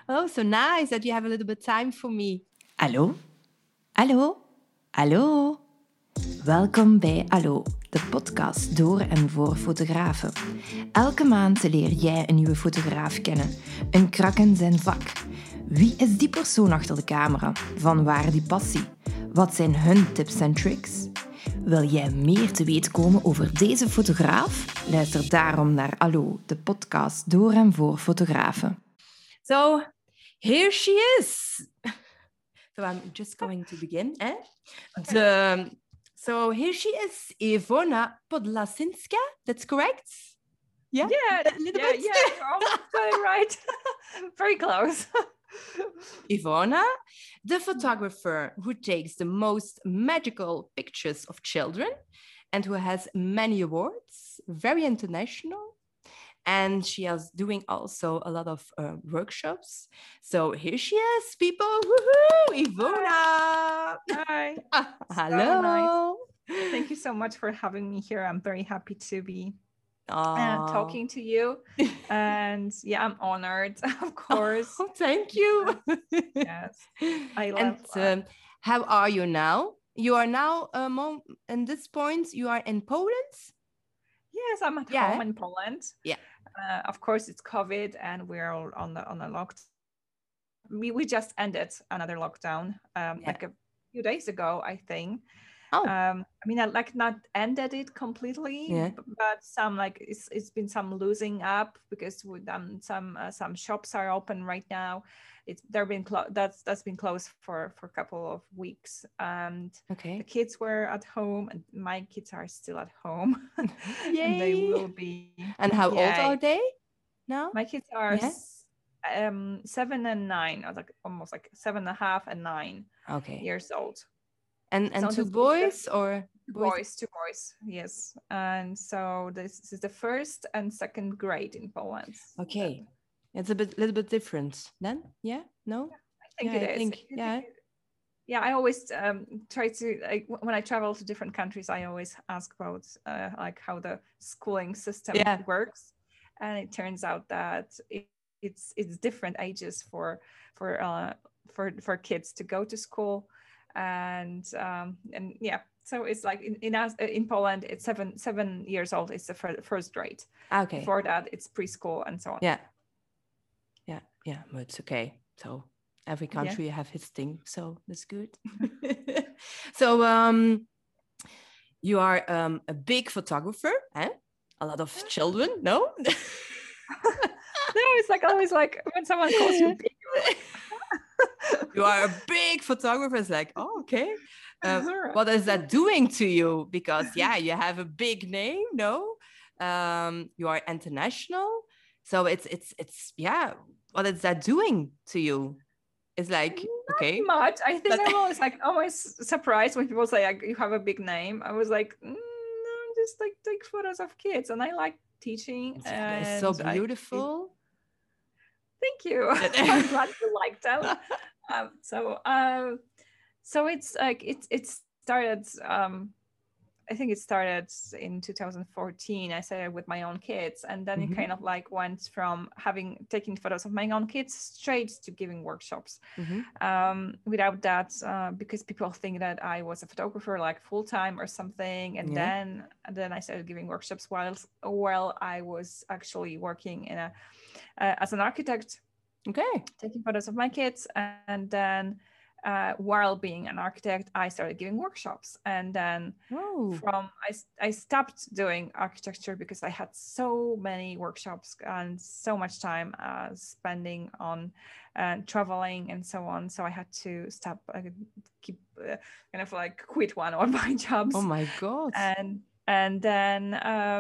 Oh, so nice that you have a little bit time for me. Hallo? Hallo? Hallo? Welkom bij Allo, de podcast door en voor fotografen. Elke maand leer jij een nieuwe fotograaf kennen, een krak in zijn vak. Wie is die persoon achter de camera? Van waar die passie? Wat zijn hun tips en tricks? Wil jij meer te weten komen over deze fotograaf? Luister daarom naar Allo, de podcast door en voor fotografen. So here she is. So I'm just going to begin. Okay. So here she is, Ivona Podlasinska. That's correct? Yeah, a little bit. Yeah, you're almost got it right. Very close. Ivona, the photographer who takes the most magical pictures of children and who has many awards, very international. And she is doing also a lot of workshops. So here she is, people. Woohoo! Ivona. Hi. Hello. So nice. Thank you so much for having me here. I'm very happy to be talking to you. And yeah, I'm honored, of course. Oh, thank you. Yes, I love And how are you now? You are now, at this point, you are in Poland? Yes, I'm at home in Poland. Yeah. Of course, it's COVID, and we're all on the lockdown. We just ended another lockdown like a few days ago, I think. Oh. I mean, I not ended it completely, but some it's been some losing up because with some shops are open right now. That's been closed for a couple of weeks, and the kids were at home, and my kids are still at home. Yay. And they will be. And how old are they now? My kids are 7 and 9, or almost 7.5 and 9 years old. And so two boys or boys? Two boys, yes. And so this is the first and second grade in Poland. Okay. It's little bit different then? Yeah? No? I think it is. Yeah, I always try to, when I travel to different countries, I always ask about how the schooling system works. And it turns out that it's different ages for kids to go to school. And so it's like in Poland, it's 7 years old. It's the first grade. Okay. Before that, it's preschool and so on. Yeah, but it's okay. So every country have his thing, so that's good. So you are a big photographer, eh? A lot of children, no? No, it's always when someone calls you big. You are a big photographer. It's like, oh, okay. What is that doing to you? Because you have a big name, no? You are international, so it's what is that doing to you? It's like not much. I think I'm always surprised when people say you have a big name. I was like, no, just take photos of kids, and I like teaching. It's so beautiful. Thank you. I'm glad you liked them. So it's it started. I think it started in 2014. I started with my own kids, and then it kind of went from taking photos of my own kids straight to giving workshops. Without that, because people think that I was a photographer full time or something, and then I started giving workshops while I was actually working as an architect. Okay. Taking photos of my kids, and then while being an architect, I started giving workshops. And then I stopped doing architecture because I had so many workshops and so much time spending on traveling and so on. So I had to stop, quit one of my jobs. Oh my God. And then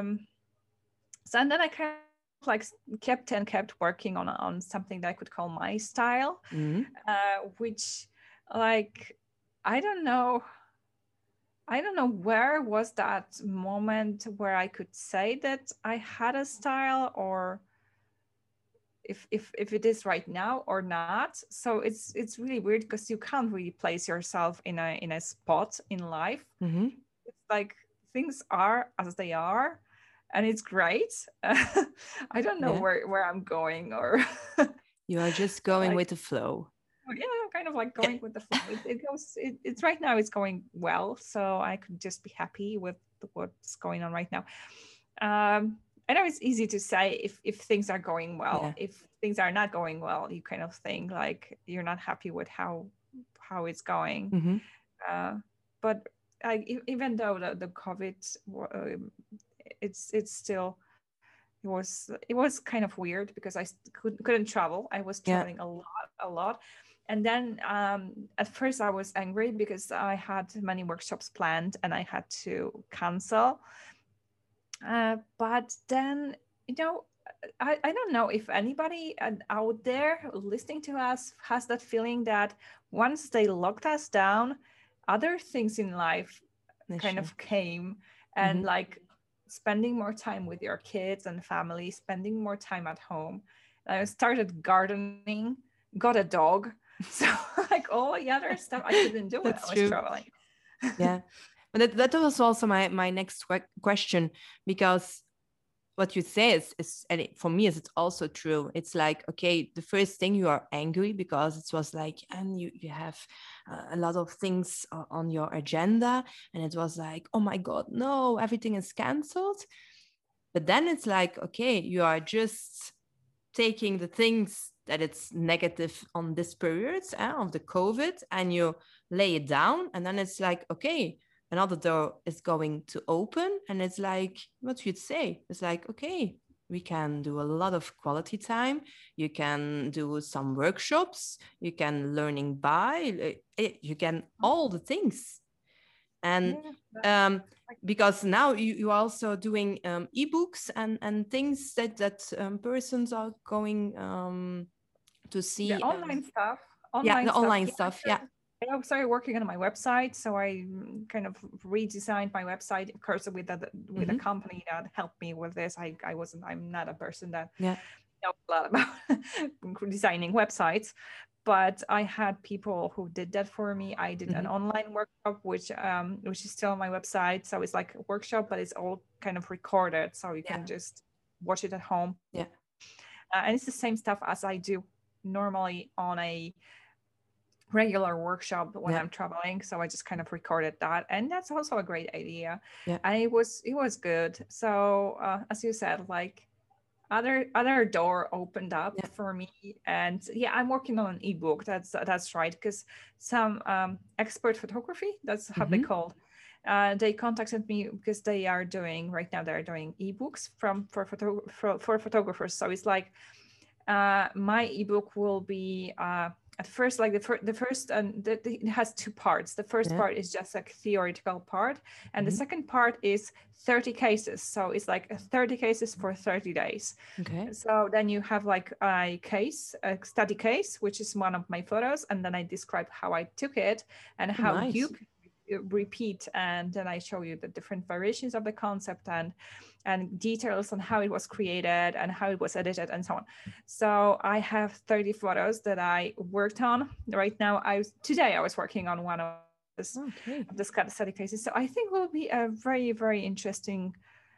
I kind of kept working on something that I could call my style, which I don't know where was that moment where I could say that I had a style, or if it is right now or not. So it's really weird because you can't really place yourself in a spot in life. It's things are as they are, and it's great. I don't know where I'm going or You are just going Like, with the flow. yeah, kind of like going with the flow. It's right now it's going well, so I could just be happy with what's going on right now. I know it's easy to say if things are going well. Yeah. If things are not going well, you kind of think like you're not happy with how it's going. Mm-hmm. But even though the COVID, it's still it was kind of weird because I couldn't travel. I was Yeah. traveling a lot. And then at first I was angry because I had many workshops planned and I had to cancel. But then, I don't know if anybody out there listening to us has that feeling that once they locked us down, other things in life kind of came, and like spending more time with your kids and family, spending more time at home. I started gardening, got a dog. So like all the other stuff I couldn't do when I was traveling. Yeah. But that was also my next question, because what you say is and for me it's also true. It's like, okay, the first thing you are angry because it was like, and you have a lot of things on your agenda, and it was like, oh my God, no, everything is canceled. But then it's like, okay, you are just taking the things that it's negative on this period of the COVID, and you lay it down, and then it's like, okay, another door is going to open, and it's like, what you'd say, it's like, okay, we can do a lot of quality time, you can do some workshops, you can learning by, you can all the things. And because now you also doing ebooks and things that persons are going to see the online stuff. The online stuff. Yeah. I started working on my website, so I kind of redesigned my website, of course, with a company that helped me with this. I'm not a person that knows a lot about designing websites, but I had people who did that for me. I did an online workshop, which is still on my website. So it's like a workshop, but it's all kind of recorded, so you can just watch it at home. Yeah. And it's the same stuff as I do normally on a regular workshop when I'm traveling. So I just kind of recorded that, and that's also a great idea. And it was good. So as you said, like other door opened up for me, and I'm working on an ebook. That's right, because some expert photography, that's how they called. They contacted me because they're doing ebooks for photographers. So it's like my ebook will be at first, like the first, it has two parts. The first part is just like theoretical part, and the second part is 30 cases. So it's like 30 cases for 30 days. Okay. So then you have like a study case, which is one of my photos, and then I describe how I took it and how you repeat, and then I show you the different variations of the concept and details on how it was created and how it was edited and so on. So I have 30 photos that I worked on right now. Today I was working on one of the study cases. So I think will be a very, very interesting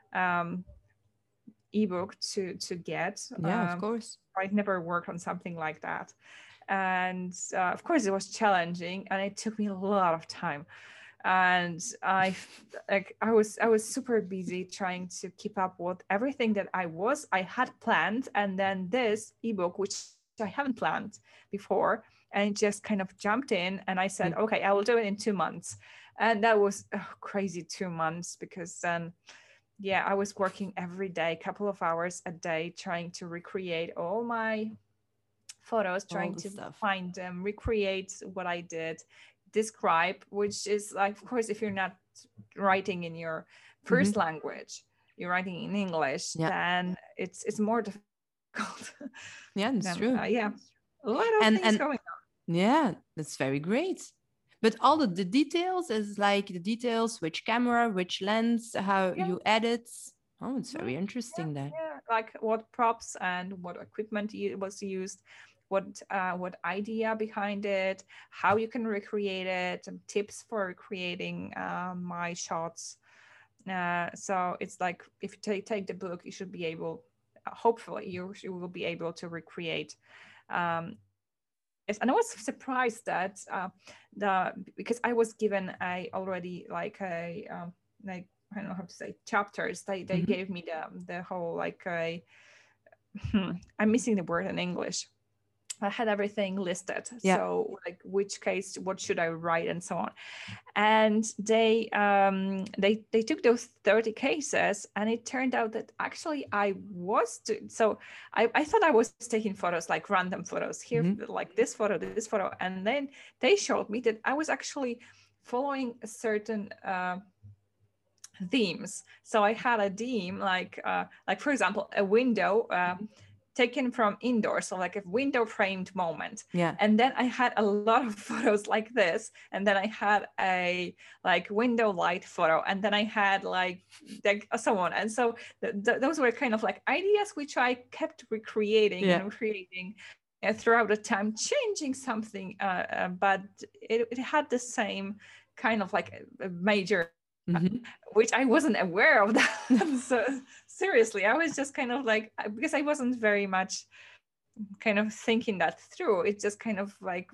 ebook to get. Of course. I've never worked on something like that, and of course it was challenging, and it took me a lot of time. And I was super busy trying to keep up with everything that I had planned, and then this ebook, which I haven't planned before, and it just kind of jumped in, and I said, okay, I will do it in 2 months. And that was crazy 2 months, because then I was working every day, a couple of hours a day, trying to recreate all my photos, trying to find them, recreate what I did, describe, which is like, of course, if you're not writing in your first language, you're writing in English, then it's more difficult. That's true. A lot of things going on. Yeah, that's very great. But all of the details is like the details, which camera, which lens, how you edit. Oh, it's very interesting then. Like what props and what equipment was used, what idea behind it, how you can recreate it, and tips for recreating my shots. So it's like, if you take the book, you should be able, hopefully you will be able to recreate Yes, and I was surprised that because I was given already like like I don't know how to say chapters. They gave me the whole like I'm missing the word in English. I had everything listed. Yeah. So like which case, what should I write, and so on. And they took those 30 cases, and it turned out that actually I thought I was taking photos, like random photos here, like this photo, and then they showed me that I was actually following a certain themes. So I had a theme like for example a window taken from indoors, so like a window framed moment. Yeah. And then I had a lot of photos like this, and then I had a like window light photo, and then I had like someone. And so those were kind of like ideas which I kept recreating and recreating throughout the time, changing something, but it had the same kind of like a major which I wasn't aware of that. So seriously, I was just kind of like, because I wasn't very much kind of thinking that through. It just kind of like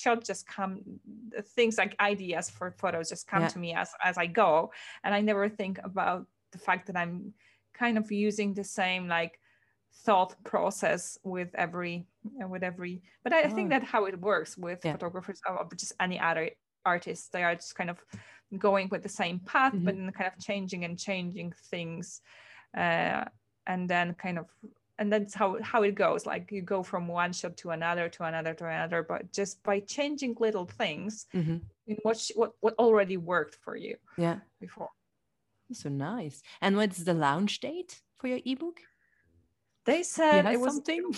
things like ideas for photos just come to me as I go. And I never think about the fact that I'm kind of using the same like thought process with every, but I think that how it works with photographers or just any other artists. They are just kind of going with the same path, but then kind of changing things, and then and that's how it goes. Like you go from one shot to another, but just by changing little things in what already worked for you before. So nice. And what's the launch date for your ebook? They said it was something.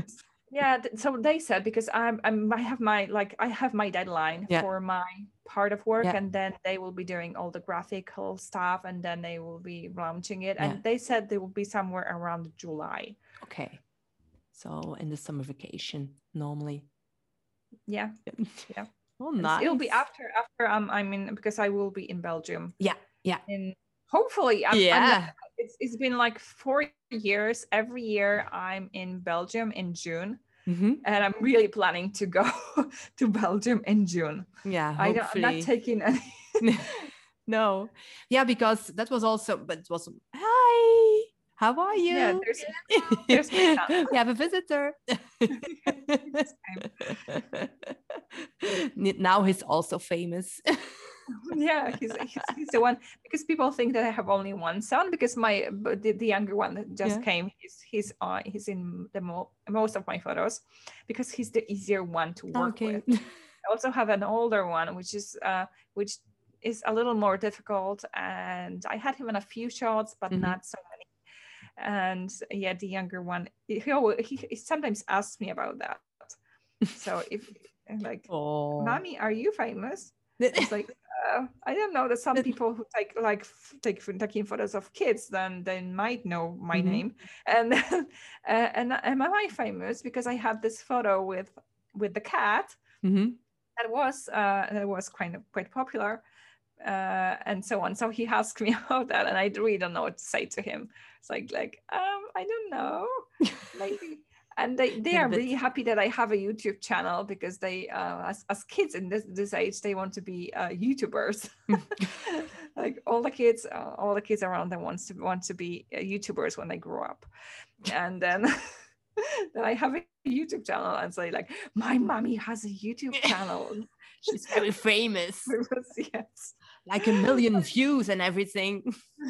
So they said, because I have my deadline for my part of work, and then they will be doing all the graphical stuff, and then they will be launching it, and they said they will be somewhere around July. Okay, so in the summer vacation normally. Yeah. Oh, nice. It'll be after I'm in, because I will be in Belgium. And hopefully it's been like 4 years. Every year I'm in Belgium in June, and I'm really planning to go to Belgium in June. Hopefully. I'm not taking any. No. Because that was also, but it was, hi, how are you? Yeah, there's my son. We have a visitor. Now he's also famous. Yeah, he's the one, because people think that I have only one son, because the younger one that just came, he's in the most of my photos, because he's the easier one to work with. I also have an older one, which is a little more difficult, and I had him in a few shots, but not so many. And the younger one, he sometimes asks me about that. So if like, Mommy, are you famous? It's like, I don't know, that some people who taking photos of kids, then they might know my name. And and am I famous because I had this photo with the cat that was quite popular, and so on. So he asked me about that, and I really don't know what to say to him. It's like I don't know, maybe. And they are really happy that I have a YouTube channel, because they, as kids in this age, they want to be YouTubers. Like all the kids around them want to be YouTubers when they grow up. And then then I have a YouTube channel, and say like, my mommy has a YouTube channel. She's very famous. Yes. Like 1 million views and everything.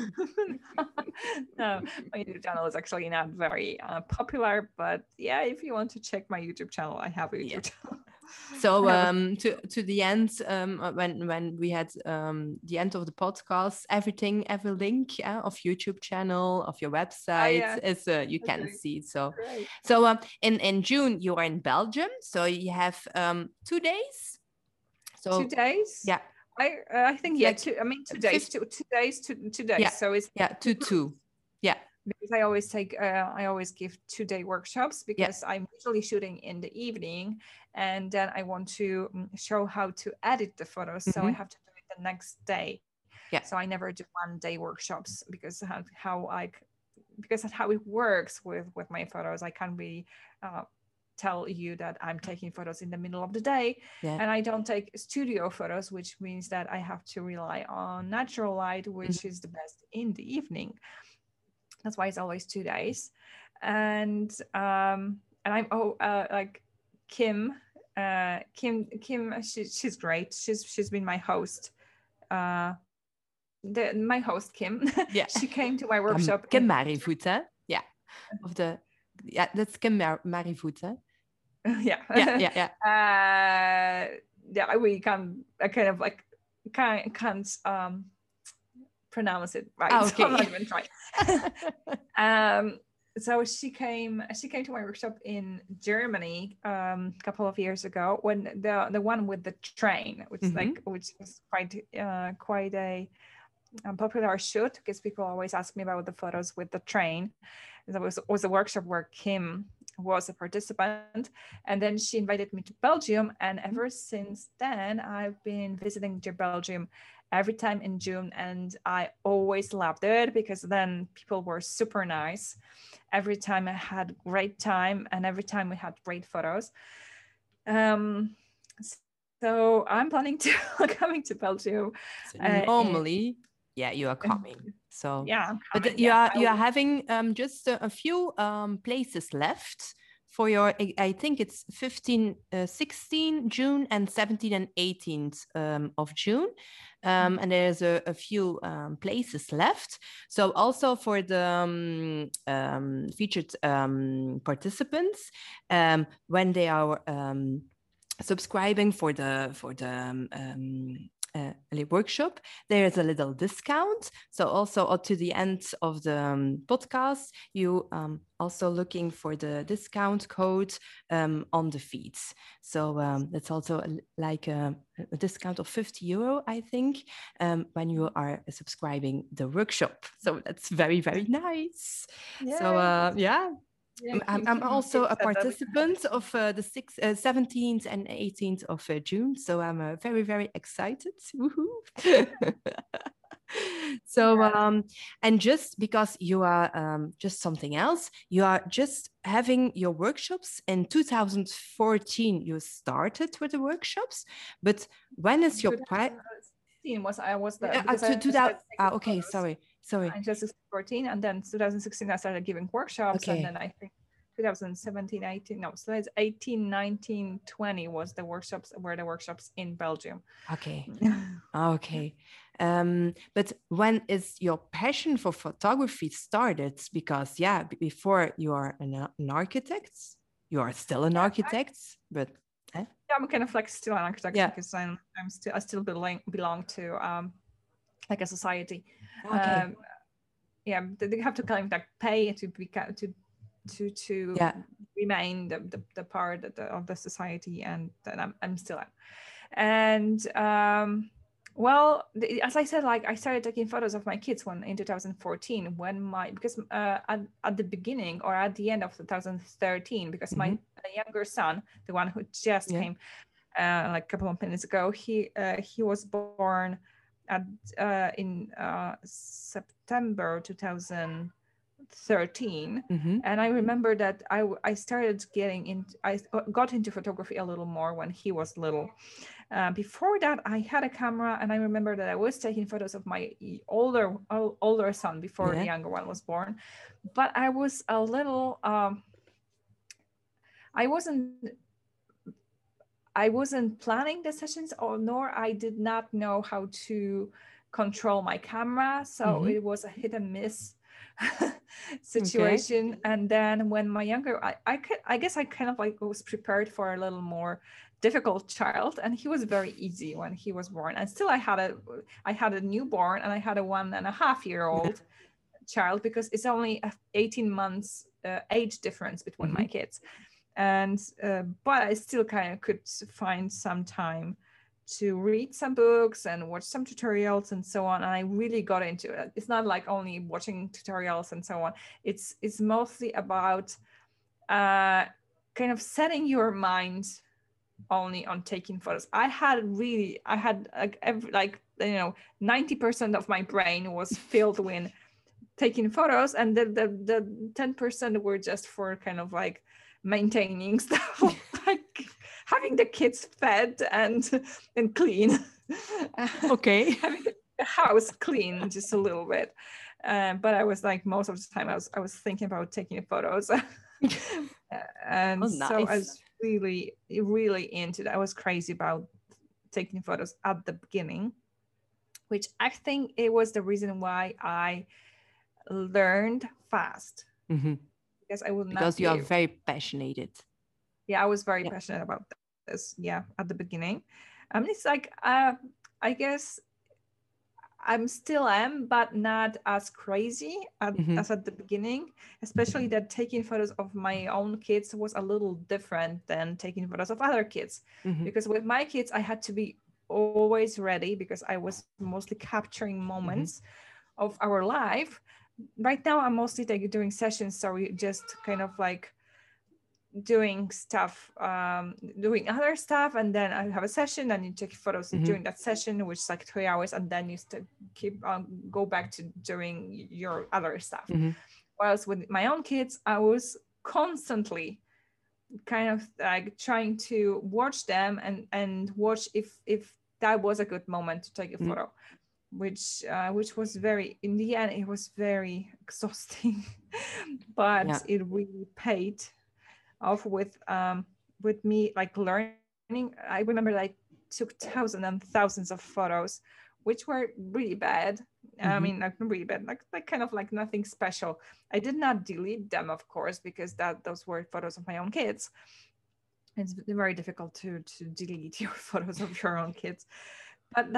No, my YouTube channel is actually not very popular, but if you want to check my YouTube channel, I have a YouTube channel. So to the end, when we had the end of the podcast, every link of YouTube channel, of your website is you can see. So great. So in June you are in Belgium, so you have 2 days. So 2 days. Yeah. I think like 2 days. 2 days. 2 days. Yeah. So it's 2. Yeah. Because I always give 2-day workshops, because I'm usually shooting in the evening, and then I want to show how to edit the photos. So I have to do it the next day. Yeah. So I never do 1-day workshops, because that's how it works with my photos. I can't really tell you that I'm taking photos in the middle of the day, and I don't take studio photos, which means that I have to rely on natural light, which is the best in the evening. That's why it's always 2 days. And I'm like Kim, she's great. She's been my host. My host Kim. Yeah. She came to my workshop. Kim Marivoet, huh? Yeah. That's Kim Marivoet, huh? Yeah. We can can't pronounce it right. Oh, okay. So I'm not even trying. So she came to my workshop in Germany a couple of years ago, when the one with the train, which was quite a popular shoot, because people always ask me about the photos with the train. That was a workshop where Kim was a participant, and then she invited me to Belgium, and ever since then I've been visiting Belgium every time in June, and I always loved it because then people were super nice. Every time I had great time, and every time we had great photos. So I'm planning to coming to Belgium. Normally, you are coming. So yeah, I'm coming, but you are having just a few places left for your, I think it's 16 June and 17 and 18th of June. And there's a few places left. So also for the featured participants, when they are subscribing for the workshop, there is a little discount. So also to the end of the podcast, you also looking for the discount code on the feeds. So that's also like a discount of €50, I think, when you are subscribing the workshop. So that's very, very nice. Yeah. So yeah. I'm also a participant of the 17th and 18th of June, so I'm very, very excited. So, and just because you are just something else, you are just having your workshops in 2014. You started with the workshops, but when is your okay, sorry. In 2014, and then 2016 I started giving workshops, and then I think 2017, 18, no, so it's 18, 19, 20 was the workshops in Belgium. Okay. Okay. But when is your passion for photography started? Because before you are an architect, you are still an architect, but yeah, I'm kind of like still an architect because I still belong to like a society. Okay. They have to kind of like pay to remain the part of the society, and then I'm still at. And as I said, like I started taking photos of my kids in 2014 because at the beginning or at the end of 2013, because my younger son, the one who just came like a couple of minutes ago, he was born in September 2013, and I remember that I started I got into photography a little more when he was little. Before that, I had a camera, and I remember that I was taking photos of my older son before the younger one was born, but I was a little I wasn't planning the sessions, nor I did not know how to control my camera, so it was a hit and miss situation. And then when my younger, I guess I kind of like was prepared for a little more difficult child, and he was very easy when he was born. And still I had a newborn, and I had a 1.5-year-old child, because it's only 18 months age difference between my kids. And but I still kind of could find some time to read some books and watch some tutorials and so on. And I really got into it. It's not like only watching tutorials and so on. It's mostly about kind of setting your mind only on taking photos. I had 90% of my brain was filled with taking photos, and the 10% were just for kind of like maintaining stuff, like having the kids fed and clean. Okay. Having the house clean just a little bit. But I was like, most of the time I was thinking about taking photos. And so I was really, really into that. I was crazy about taking photos at the beginning, which I think it was the reason why I learned fast. Because I would not. Because you are very passionate. Yeah, I was very passionate about this. Yeah, at the beginning. It's like I guess I'm still am, but not as crazy as at the beginning. Especially that taking photos of my own kids was a little different than taking photos of other kids. Because with my kids, I had to be always ready because I was mostly capturing moments of our life. Right now, I'm mostly doing sessions, so we just kind of like doing stuff, doing other stuff, and then I have a session and you take photos during that session, which is like 3 hours, and then you keep go back to doing your other stuff. Whereas with my own kids, I was constantly kind of like trying to watch them and watch if that was a good moment to take a photo, which was very, in the end, it was very exhausting, but it really paid off with me, like learning. I remember I took thousands and thousands of photos, which were really bad. I mean, like really bad, like kind of like nothing special. I did not delete them, of course, because those were photos of my own kids. It's very difficult to delete your photos of your own kids, but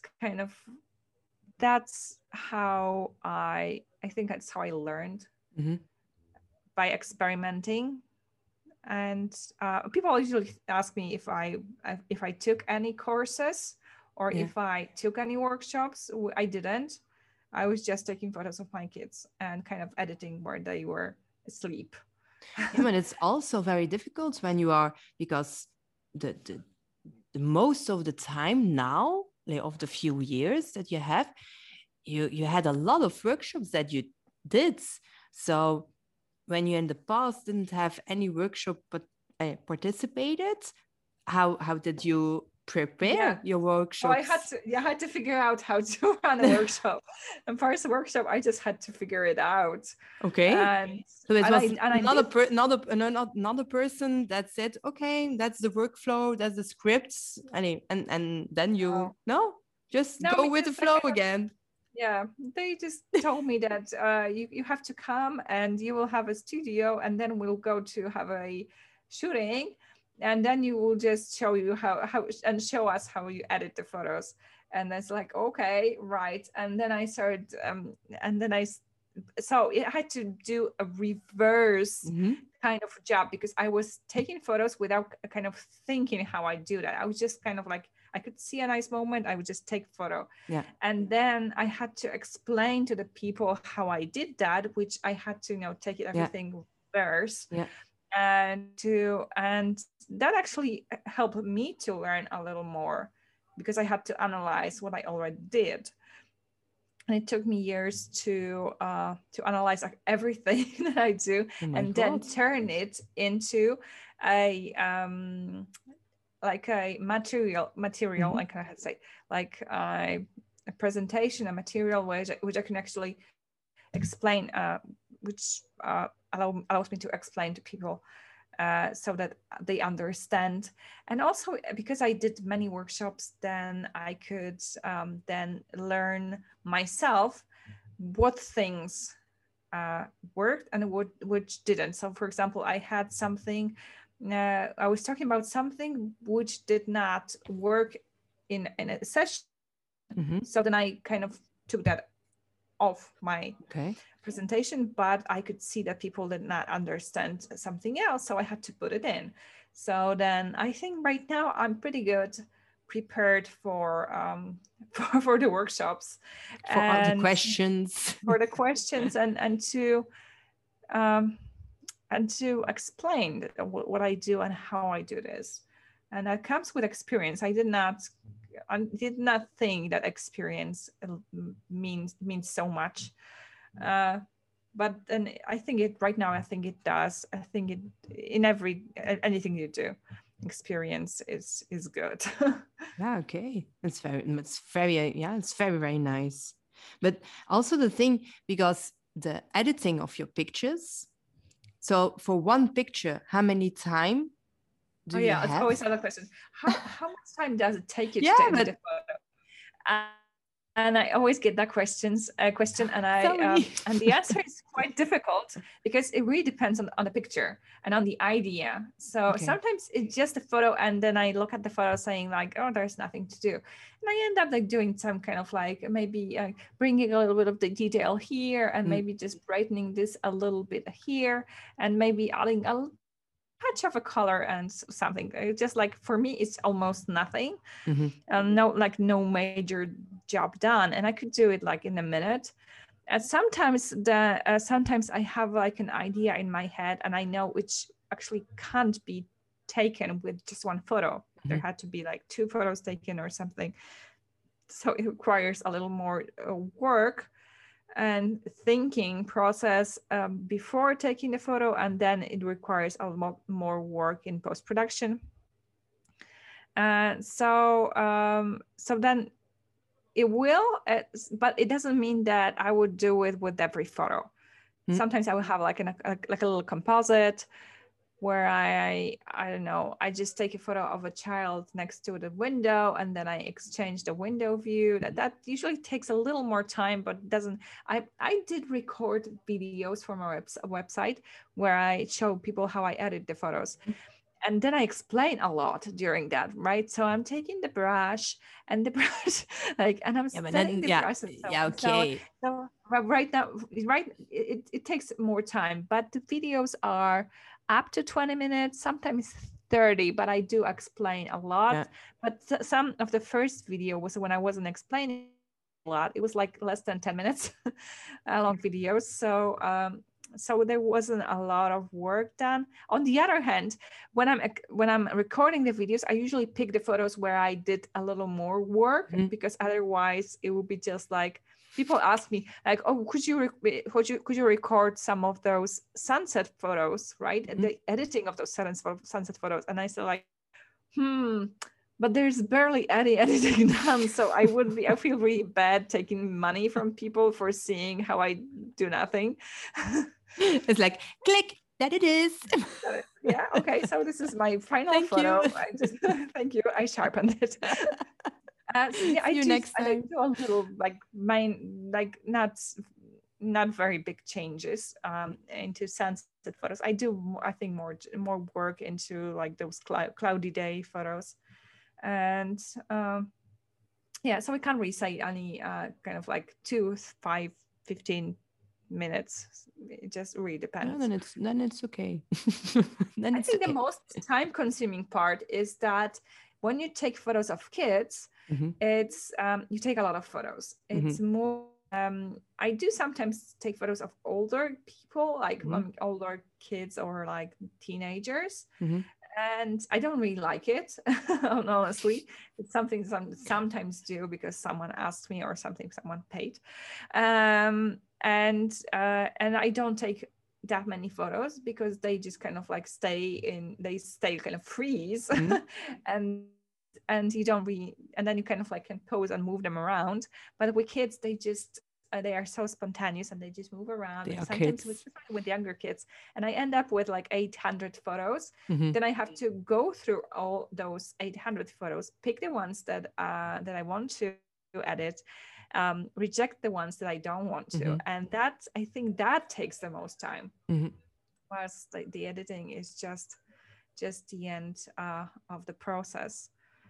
that's how I think that's how I learned, by experimenting. And people usually ask me if I took any courses or if I took any workshops. I didn't. I was just taking photos of my kids and kind of editing where they were asleep. But it's also very difficult when you are, because the most of the time now, like of the few years that you have, you had a lot of workshops that you did. So when you in the past didn't have any workshop but participated, how did you prepare your workshops? I had to figure out how to run a workshop. And first workshop, I just had to figure it out. Okay. And so it was another person that said, okay, that's the workflow, that's the scripts, and then you go with the flow again. Yeah, they just told me that you have to come and you will have a studio, and then we'll go to have a shooting, and then you will just show you how and show us how you edit the photos. And it's like, okay, right. And then I started, so I had to do a reverse kind of job, because I was taking photos without kind of thinking how I do that. I was just kind of like, I could see a nice moment, I would just take a photo. Yeah. And then I had to explain to the people how I did that, which I had to, take everything reverse. Yeah. And that actually helped me to learn a little more, because I had to analyze what I already did. And it took me years to analyze everything that I do, then turn it into a like a material, I can say, like a presentation, a material which I can actually explain, which allows me to explain to people so that they understand. And also because I did many workshops, then I could then learn myself what things worked and which didn't. So for example, I had something, I was talking about something which did not work in a session. So then I kind of took that off my presentation, but I could see that people did not understand something else, so I had to put it in. So then I think right now I'm pretty good prepared for the workshops, for all the questions, and to explain what I do and how I do this. And that comes with experience. I did not think that experience means so much. but then I think it right now, I think it does. I think it in anything you do, experience is good. Yeah, okay. It's very, yeah, it's very, very nice. But also the thing, because the editing of your pictures, so for one picture, how many time do Oh you yeah, it's have? always another question. How much time does it take you Yeah, to edit but a photo? And I always get that question, sorry. and the answer is quite difficult because it really depends on the picture and on the idea. So Okay. sometimes it's just a photo, and then I look at the photo saying like, oh, there's nothing to do, and I end up like doing some kind of like maybe bringing a little bit of the detail here, and maybe just brightening this a little bit here, and maybe adding a touch of a color and something. It's just like for me, it's almost nothing. No major job done, and I could do it like in a minute. And sometimes I have like an idea in my head, and I know which actually can't be taken with just one photo. There had to be like 2 photos taken or something. So it requires a little more work and thinking process before taking the photo, and then it requires a lot more work in post-production. So then it will, but it doesn't mean that I would do it with every photo. Sometimes I will have like a little composite where I don't know, I just take a photo of a child next to the window, and then I exchange the window view. That usually takes a little more time, but doesn't. I did record videos for my website where I show people how I edit the photos. And then I explain a lot during that, right? So I'm taking the brush and and I'm setting the brush. And so, okay. So right now, it takes more time, but the videos are up to 20 minutes, sometimes 30, but I do explain a lot. Yeah. But some of the first video was when I wasn't explaining a lot. It was like less than 10 minutes long videos. So there wasn't a lot of work done. On the other hand, when I'm recording the videos, I usually pick the photos where I did a little more work, because otherwise it would be just like, people ask me like, oh, could you record some of those sunset photos, right? The editing of those sunset photos. And I said like, but there's barely any editing done. So I feel really bad taking money from people for seeing how I do nothing. It's like, click, that it is. Yeah, okay, so this is my final photo. Thank you, I sharpened it. I do a little like not very big changes into sunset photos. I do, I think, more work into like those cloudy day photos. And so we can't really say any kind of like 2, 5, 15 minutes. It just really depends. No, then it's okay. Then I think the most time consuming part is that when you take photos of kids, it's you take a lot of photos. It's more I do sometimes take photos of older people, like older kids or like teenagers. And I don't really like it, honestly. It's something sometimes do because someone asked me or something someone paid. And I don't take that many photos because they just kind of like kind of freeze. And you don't really, and then you kind of like can pose and move them around. But with kids, they are so spontaneous and they just move around. And sometimes with younger kids, and I end up with like 800 photos. Then I have to go through all those 800 photos, pick the ones that I want to edit, reject the ones that I don't want to, and I think that takes the most time. Whereas the editing is just the end of the process.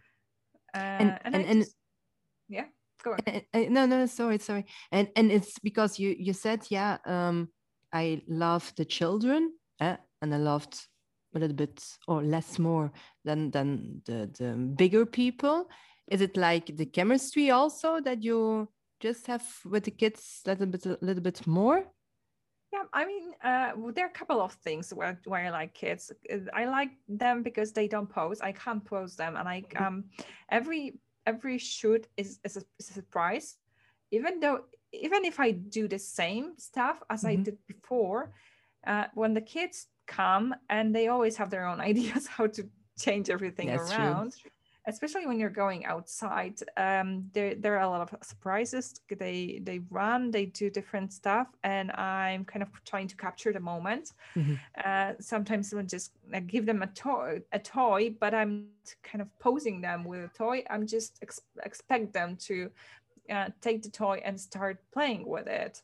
Yeah. Go on. No, sorry. And it's because you said, I love the children, and I loved a little bit or less more than the bigger people. Is it like the chemistry also that you just have with the kids a little bit more? Yeah, I mean, there are a couple of things where I like kids. I like them because they don't pose. I can't pose them, and every shoot is a surprise. Even though even if I do the same stuff as I did before, when the kids come and they always have their own ideas how to change everything around. True. Especially when you're going outside, there are a lot of surprises. They run, they do different stuff, and I'm kind of trying to capture the moment. Sometimes I'll just give them a toy, but I'm kind of posing them with a toy. I'm just expect them to take the toy and start playing with it.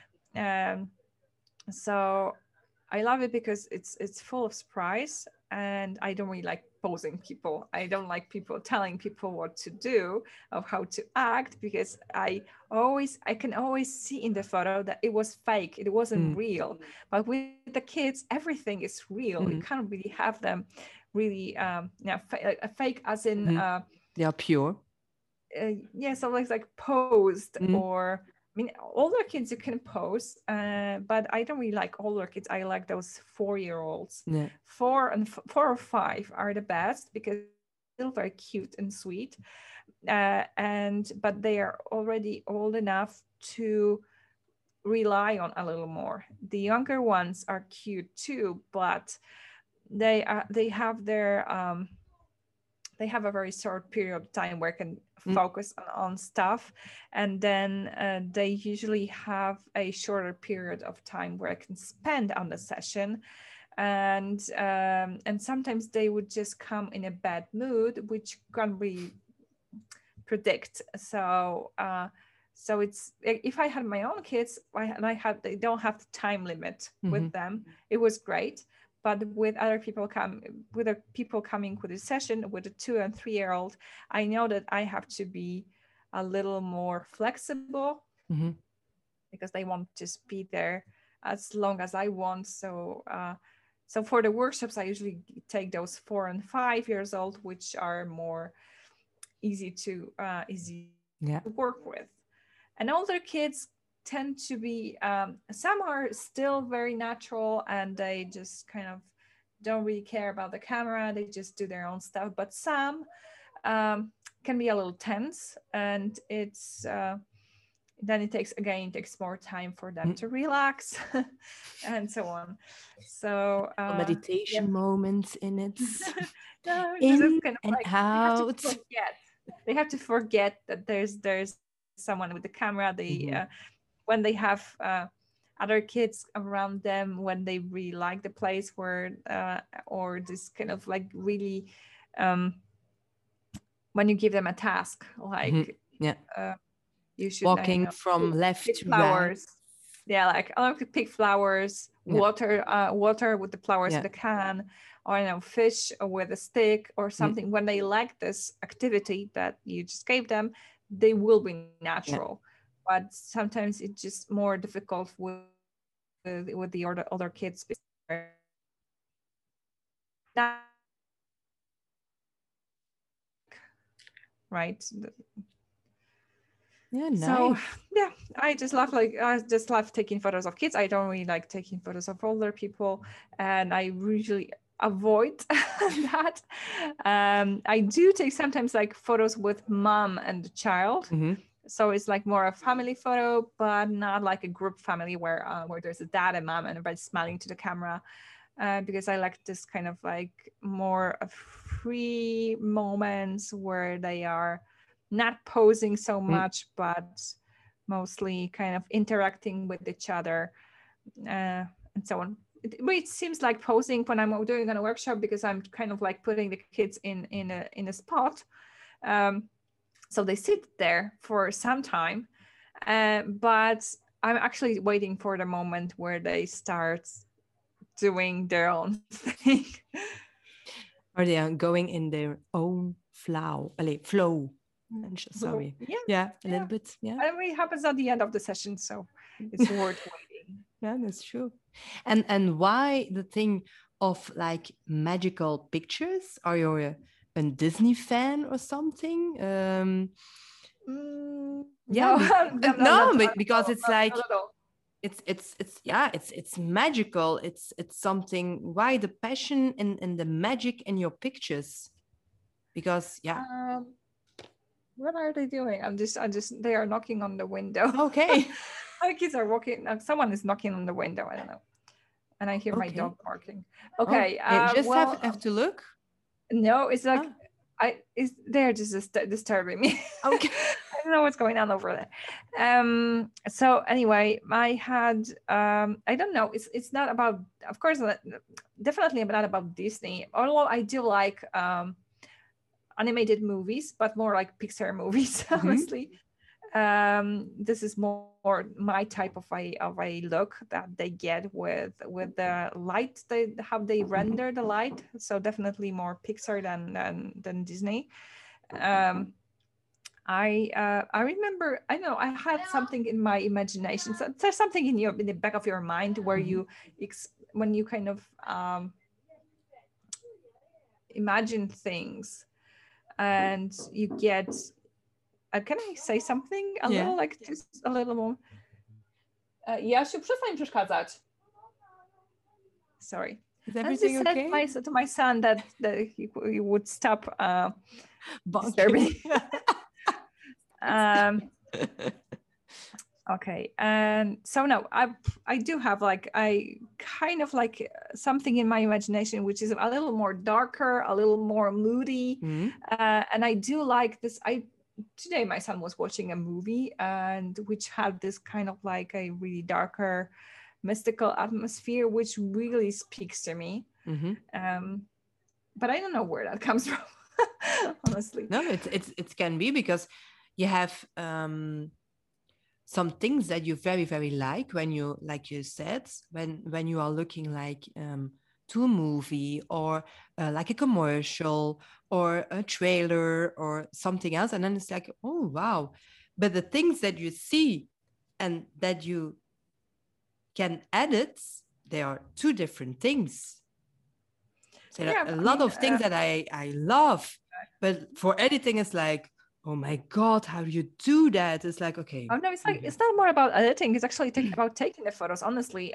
So I love it because it's full of surprise, and I don't really like posing people. I don't like people telling people what to do, of how to act, because I can always see in the photo that it was fake. It wasn't real. But with the kids, everything is real. You can't really have them really fake as in they are pure. So like posed or. I mean, older kids you can pose, but I don't really like older kids. I like those 4-year-olds. 4 or 5 are the best because they're still very cute and sweet, but they are already old enough to rely on a little more. The younger ones are cute too, but they have their they have a very short period of time where I can focus on stuff, and then they usually have a shorter period of time where I can spend on the session, and sometimes they would just come in a bad mood, which can't really predict. So it's, if I had my own kids, they don't have the time limit with them. It was great. But with other people coming with the session with a 2 and 3-year-old, I know that I have to be a little more flexible because they won't just be there as long as I want. So for the workshops, I usually take those 4 and 5 years old, which are more easy to work with. And older kids tend to be some are still very natural, and they just kind of don't really care about the camera. They just do their own stuff, but some can be a little tense, and it's then it takes more time for them to relax and so on. So meditation moments in it. No, in kind of and like, out. They have to forget that there's someone with the camera. They when they have other kids around them, when they really like the place where or this kind of like really when you give them a task, like you should walking from left to flowers. Right. Like I like to pick flowers, water with the flowers in the can, or fish with a stick or something. When they like this activity that you just gave them, they will be natural. But sometimes it's just more difficult with the other kids. Right. Nice. So I just love taking photos of kids. I don't really like taking photos of older people, and I usually avoid that. I do take sometimes like photos with mom and the child. So it's like more a family photo, but not like a group family where there's a dad and mom and everybody's smiling to the camera, because I like this kind of like more free moments where they are not posing so much, but mostly kind of interacting with each other, and so on. It seems like posing when I'm doing on a workshop, because I'm kind of like putting the kids in a spot. So they sit there for some time, but I'm actually waiting for the moment where they start doing their own thing. Or they are going in their own flow. Sorry. A little bit. And it happens at the end of the session, so it's worth waiting. Yeah, that's true. And why the thing of like magical pictures? Are you a Disney fan or something? Because it's like it's magical. It's something. Why the passion and the magic in your pictures? Because What are they doing? They are knocking on the window. Okay. My kids are walking. Someone is knocking on the window. I don't know. And I hear my Okay. dog barking. Okay. Just well, have to look. no, it's like they're just disturbing me. Okay. I don't know what's going on over there. So anyway, I had I don't know. It's not about, of course, definitely not about Disney. Although I do like animated movies, but more like Pixar movies, honestly. This is more my type of a look that they get with the light, how they render the light. So definitely more Pixar than Disney. I remember, I know I had something in my imagination. So there's something in the back of your mind where you when you kind of imagine things and you get can I say something a little, like just a little more? Jasiu, przestań przeszkadzać. Sorry. Is everything okay? I said to my son that he would stop disturbing. Okay, and so no, I do have like I kind of like something in my imagination which is a little more darker, a little more moody, and I do like this. Today my son was watching a movie and which had this kind of like a really darker, mystical atmosphere, which really speaks to me. But I don't know where that comes from, honestly. No, it can be because you have some things that you very, very like when you, like you said, when you are looking like to a movie or like a commercial or a trailer or something else. And then it's like, oh, wow. But the things that you see and that you can edit, they are two different things. So a lot of things that I love, but for editing, it's like, oh my God, how do you do that? It's like, okay. Oh no, it's like, it's not more about editing. It's actually about taking the photos. Honestly,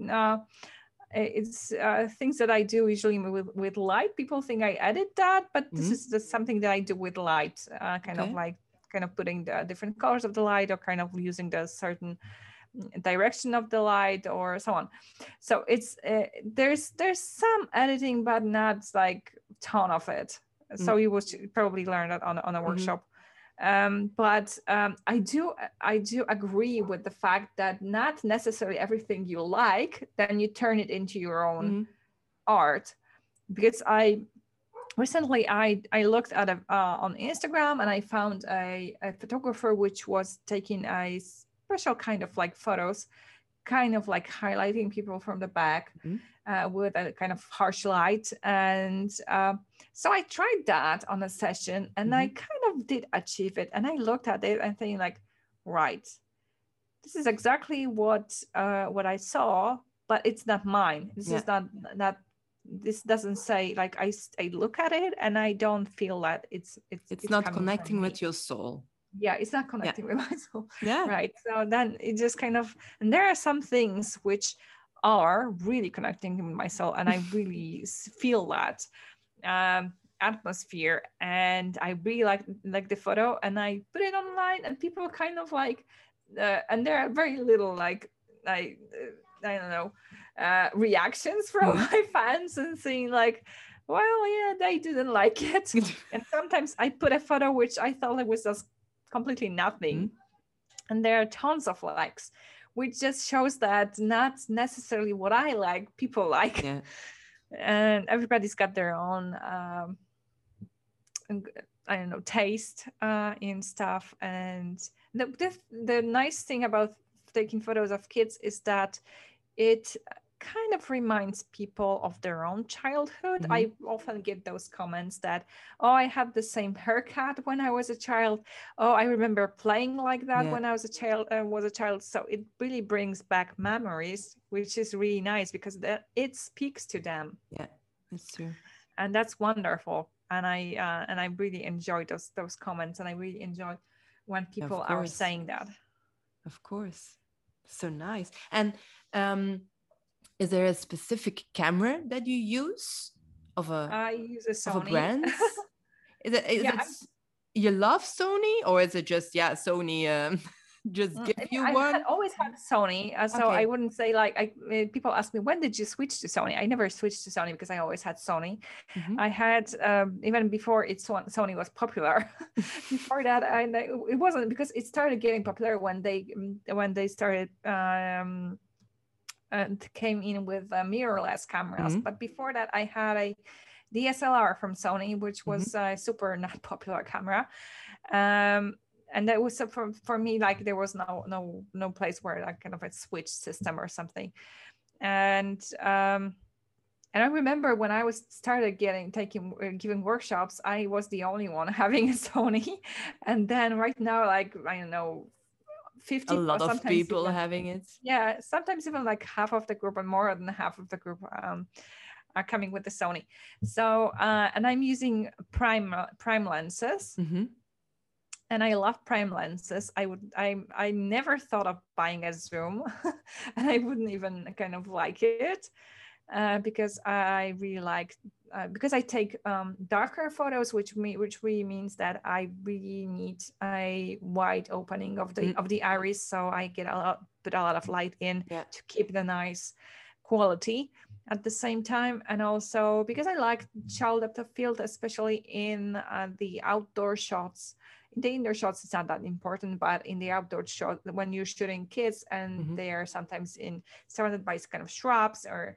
it's things that I do usually with light. People think I edit that, but this is just something that I do with light, kind of putting the different colors of the light or kind of using the certain direction of the light or so on. So it's there's some editing, but not like ton of it. So you would probably learn that on a workshop. But I do agree with the fact that not necessarily everything you like, then you turn it into your own art. Because recently I looked at on Instagram and I found a photographer which was taking a special kind of like photos, kind of like highlighting people from the back with a kind of harsh light. And so I tried that on a session and I kind of did achieve it. And I looked at it and thinking like, right, this is exactly what I saw, but it's not mine. This is not this doesn't say, like, I look at it and I don't feel that it's not connecting with your soul. Yeah, it's not connecting with my soul. Yeah. Right. So then it just kind of, and there are some things which are really connecting with my soul, and I really feel that atmosphere, and I really like the photo, and I put it online, and people kind of like, and there are very little like I don't know reactions from my fans and saying like, well, yeah, they didn't like it. And sometimes I put a photo which I thought it was just completely nothing, and there are tons of likes, which just shows that not necessarily what I like people like. And everybody's got their own I don't know, taste in stuff. And the nice thing about taking photos of kids is that it kind of reminds people of their own childhood. I often get those comments that, oh, I had the same haircut when I was a child. Oh, I remember playing like that when I was a child. So it really brings back memories, which is really nice because it speaks to them. Yeah, that's true. And that's wonderful. And I really enjoy those comments, and I really enjoy when people are saying that. Of course. So nice. And is there a specific camera that you use I use a Sony. Of a brand? you love Sony, or is it just Sony just give you one? Always had Sony, so I wouldn't say like people ask me, when did you switch to Sony? I never switched to Sony because I always had Sony. I had even before Sony was popular. Before that, it wasn't, because it started getting popular when they started came in with mirrorless cameras. But before that, I had a DSLR from Sony, which was a super not popular camera. And that was for me, like there was no place where like kind of a switch system or something. And I remember when I started giving workshops, I was the only one having a Sony. And then right now, like, I don't know, 50 a lot of people having it. Yeah, sometimes even like half of the group and more than half of the group are coming with the Sony. So and I'm using prime lenses. And I love prime lenses. I never thought of buying a zoom, and I wouldn't even kind of like it because I really like because I take darker photos, which really means that I really need a wide opening of the iris, so I put a lot of light in to keep the nice quality at the same time. And also because I like child depth of field, especially in the outdoor shots. In the indoor shots, it's not that important, but in the outdoor shot, when you're shooting kids and they are sometimes surrounded by kind of shrubs or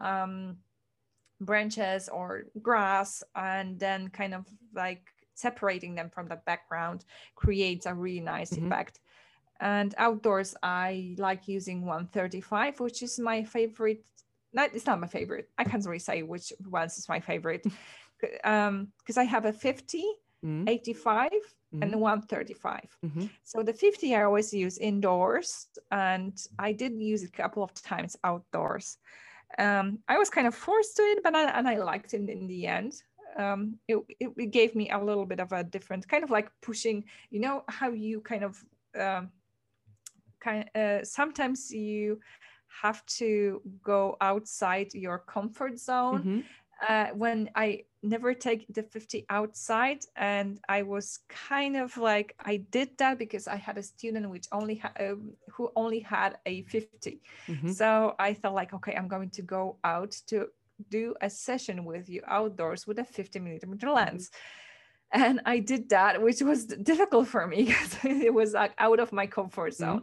branches or grass, and then kind of like separating them from the background creates a really nice effect. And outdoors, I like using 135, which is my favorite. It's not my favorite. I can't really say which ones is my favorite because I have a 50, 85, and 135. So the 50 I always use indoors, and I did use it a couple of times outdoors. I was kind of forced to it, but I liked it in the end. It gave me a little bit of a different kind of like pushing, you know, how you kind of sometimes you have to go outside your comfort zone. When I never take the 50 outside, and I was kind of like, I did that because I had a student who only had a 50. So I felt like, okay, I'm going to go out to do a session with you outdoors with a 50mm lens. And I did that, which was difficult for me because it was like out of my comfort zone.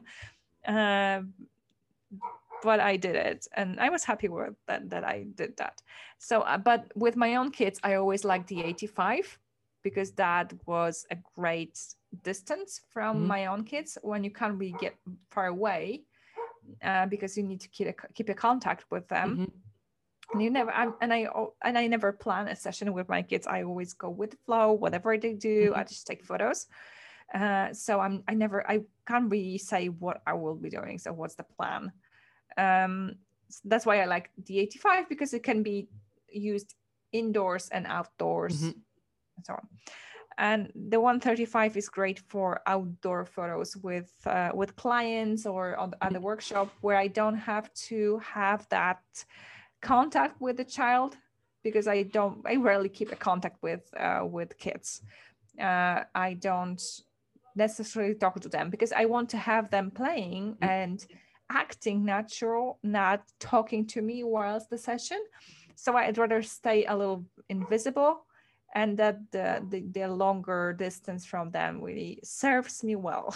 But I did it, and I was happy with that I did that. So, but with my own kids, I always liked the 85 because that was a great distance from my own kids when you can't really get far away because you need to keep a contact with them. And I never plan a session with my kids. I always go with the flow, whatever they do. I just take photos. So I can't really say what I will be doing. So what's the plan? That's why I like the 85 because it can be used indoors and outdoors and so on. And the 135 is great for outdoor photos with clients or at the workshop where I don't have to have that contact with the child because I rarely keep a contact with kids. I don't necessarily talk to them because I want to have them playing and acting natural, not talking to me whilst the session. So I'd rather stay a little invisible, and that the longer distance from them really serves me well.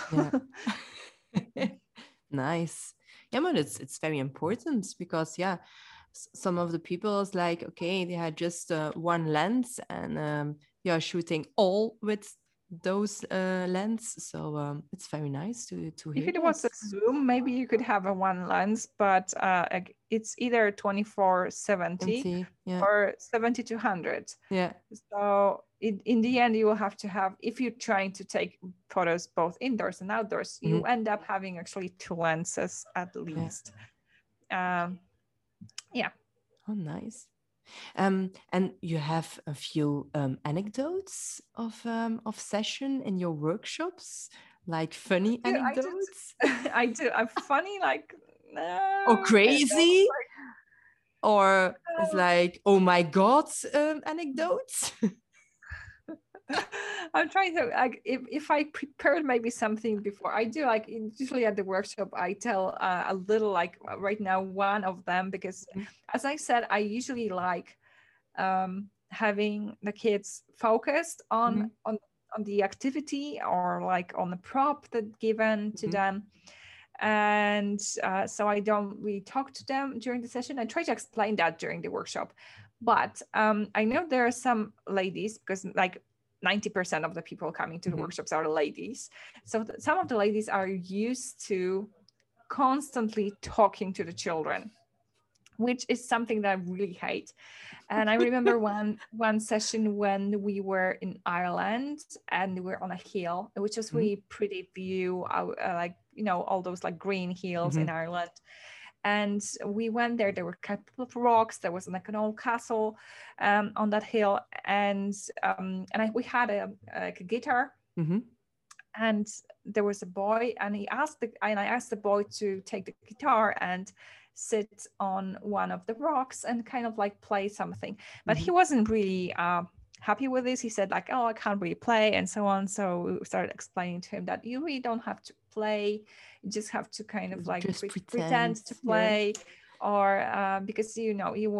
Nice. Yeah, but it's very important because some of the people is like, okay, they had just one lens and they are shooting all with those lens, so it's very nice to hear. If it was a zoom, maybe you could have a one lens, but it's either 24-70 or 70-100. So in the end, you will have to have, if you're trying to take photos both indoors and outdoors, you end up having actually two lenses at least. Oh, nice. And you have a few anecdotes of session in your workshops, like funny anecdotes. I do. I'm funny, like or crazy, or it's like, oh my God, anecdotes. I'm trying to like if I prepared maybe something before. I do like usually at the workshop I tell a little like right now one of them because as I said I usually like having the kids focused on the activity or like on the prop that given to them. And so I don't really talk to them during the session. I try to explain that during the workshop. But I know there are some ladies, because like 90% of the people coming to the workshops are ladies. So some of the ladies are used to constantly talking to the children, which is something that I really hate. And I remember one session when we were in Ireland and we were on a hill, which was really pretty view, like, you know, all those like green hills in Ireland. And we went there were a couple of rocks, there was like an old castle on that hill. And we had a guitar. And there was a boy, and I asked the boy to take the guitar and sit on one of the rocks and kind of like play something. But he wasn't really happy with this. He said like, oh, I can't really play and so on. So we started explaining to him that you really don't have to play. You just have to kind of like pretend to play, or because you know we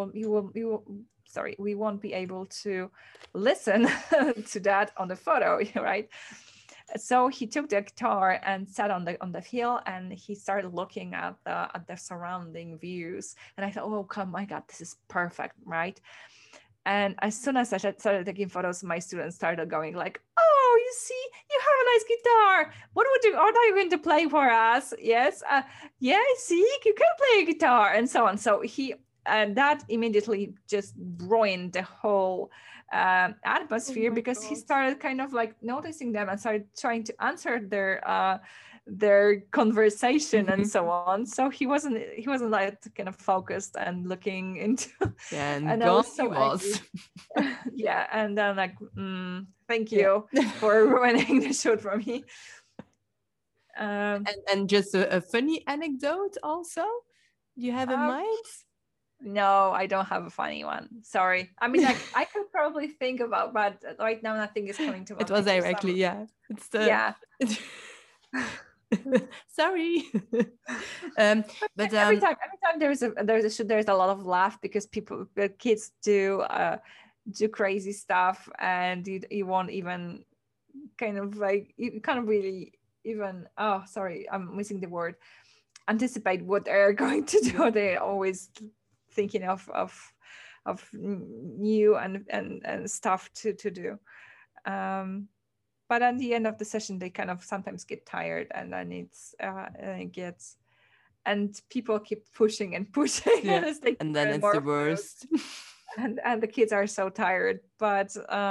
won't be able to listen to that on the photo, right? So he took the guitar and sat on the hill, and he started looking at the surrounding views. And I thought, oh my God, this is perfect, right? And as soon as I started taking photos, my students started going like, oh, you see, you have a nice guitar. What are you going to play for us? Yes, yeah, see, you can play a guitar, and so on. So that immediately just ruined the whole atmosphere, because he started kind of like noticing them and started trying to answer their conversation and so on. So he wasn't like kind of focused and looking into and I was so angry. Yeah, and then like thank you for ruining the shoot for me. And just a funny anecdote also you have in mind? No, I don't have a funny one. Sorry. I mean, like I could probably think about, but right now nothing is coming to mind. It was directly, It's the sorry. But every time there's a shoot, there's a lot of laugh because the kids do crazy stuff, and you won't even kind of like, you can't really even, oh sorry, I'm missing the word, anticipate what they're going to do. They're always thinking of new and stuff to do. But at the end of the session, they kind of sometimes get tired, and then and people keep pushing and pushing, and then it's the worst. and the kids are so tired. But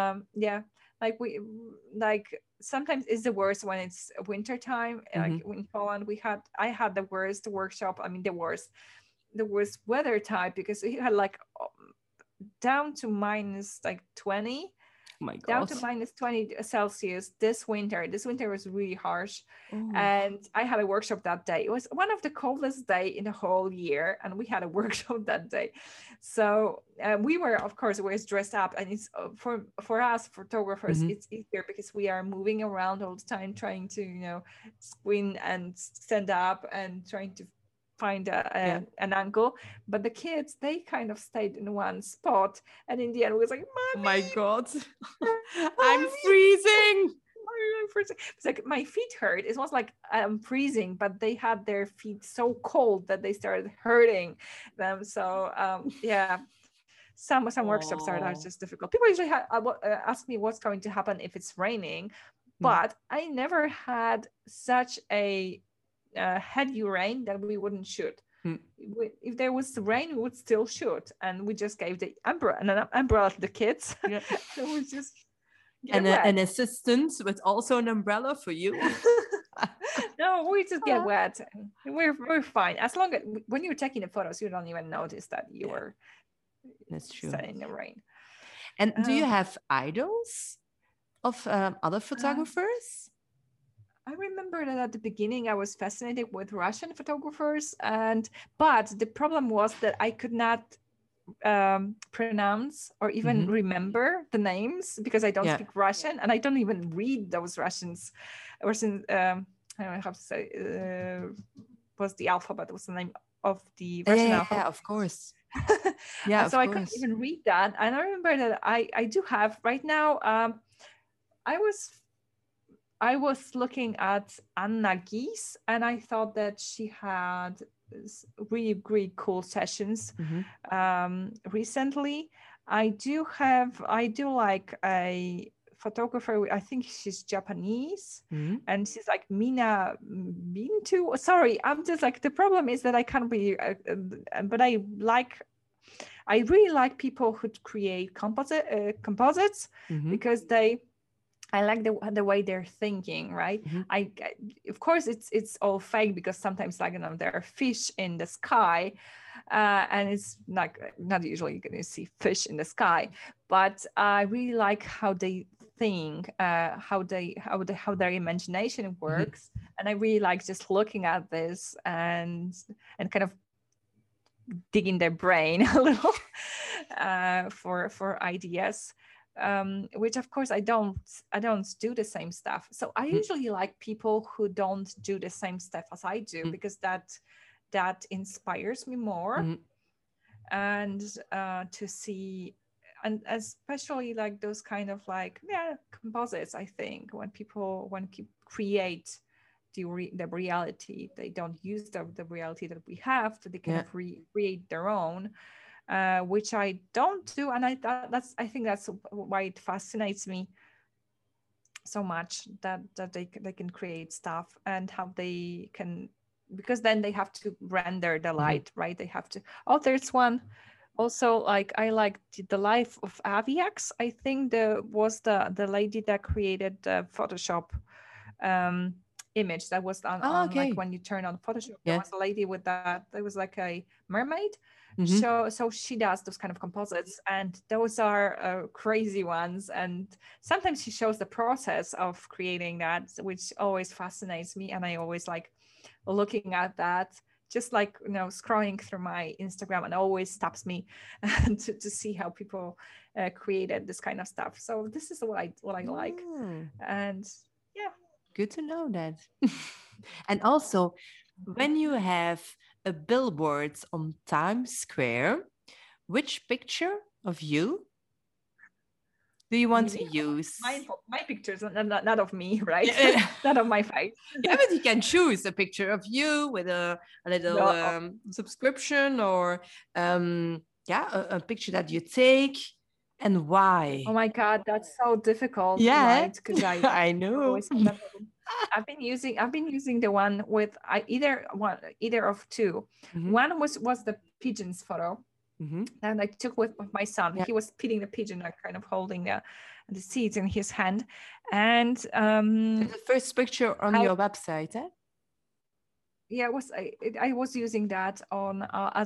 sometimes it's the worst when it's winter time. Like in Poland, I had the worst workshop. I mean, the worst weather type, because it had like down to minus like 20. Oh my God. Down to minus 20 Celsius this winter. This winter was really harsh. And I had a workshop that day. It was one of the coldest days in the whole year, and we had a workshop that day. So we were, of course, always dressed up, and it's for us photographers, it's easier because we are moving around all the time, trying to, you know, squint and stand up and trying to find an angle. But the kids, they kind of stayed in one spot, and in the end, we was like, Mommy, oh my God, I'm freezing. It's like my feet hurt. It was like I'm freezing, but they had their feet so cold that they started hurting them. So some workshops are just difficult. People usually ask me what's going to happen if it's raining, but I never had such a heavy rain that we wouldn't shoot. If there was rain, we would still shoot, and we just gave the umbrella to the kids. So we just an assistant with also an umbrella for you. No, we just get wet. We're fine, as long as when you're taking the photos, you don't even notice that you were. That's true. In the rain. And do you have idols of other photographers? I remember that at the beginning I was fascinated with Russian photographers, but the problem was that I could not pronounce or even remember the names, because I don't speak Russian, and I don't even read those Russians. I don't know how to say, was the alphabet, was the name of the Russian alphabet. Yeah, of course. So I couldn't even read that. And I remember that I do have right now, I was looking at Anna Gies, and I thought that she had really, really cool sessions recently. I do like a photographer, I think she's Japanese, and she's like Mina Bintu. Sorry, I'm just like, the problem is that I can't be, but I really like people who create composites, because I like the way they're thinking, right? I of course it's all fake, because sometimes, like, there are fish in the sky, and it's not usually you're going to see fish in the sky, but I really like how they think, how their imagination works, and I really like just looking at this and kind of digging their brain a little for ideas. Which of course I don't do the same stuff. So I usually like people who don't do the same stuff as I do, because that inspires me more. And to see, and especially like those kind of like composites, I think when people create the reality, they don't use the reality that we have, that they kind of create their own. Which I don't do, and I think that's why it fascinates me so much, that they can create stuff, and how they can, because then they have to render the light, right? They have to. Oh, there's one also, like, I like the life of Aviax. I think was the lady that created the Photoshop image that was on like when you turn on Photoshop, there was a lady with that. There was like a mermaid. So she does those kind of composites, and those are crazy ones. And sometimes she shows the process of creating that, which always fascinates me. And I always like looking at that, just like, scrolling through my Instagram, and always stops me to see how people created this kind of stuff. So this is what I like. And yeah. Good to know that. And also, when you have a billboard on Times Square, which picture of you do you want to use? My pictures, not of me, right? Not of my face. Yeah, but you can choose a picture of you with a little subscription, or a picture that you take, and why. Oh my God, that's so difficult. Yeah, right? Because I know. I've been using the one with either of two. One was the pigeon's photo, and I took with my son. He was feeding the pigeon, like kind of holding the seeds in his hand. And the first picture on your website, eh? Yeah, I was using that on